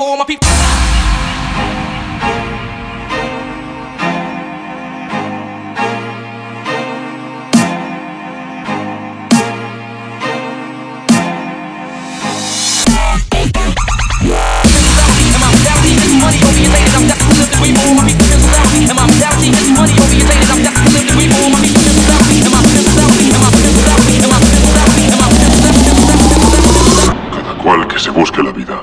all my people. Money orientated, I'm destined to live the dream for all my people in society. And my mentality is money orientated, I'm destined to live the dream for all my people in society. And my mentality, and my mentality, and my mentality, and my mentality. Cada cual que se busque la vida.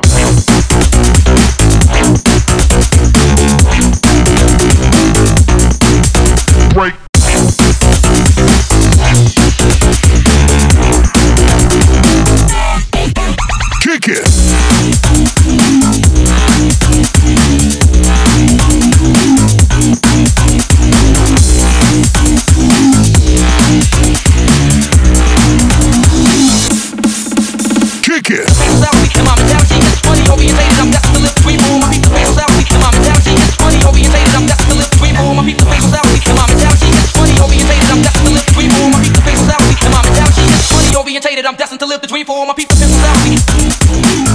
Break. Kick it. Kick it. And my mentality is money orientated, I'm destined to live the dream for all my people in society. And my mentality is money orientated, I'm destined to live the dream for all my people in society. And my mentality is money orientated, I'm destined to live the dream for all my people in society. And my mentality is money orientated, I'm destined to live the dream for all my people in society.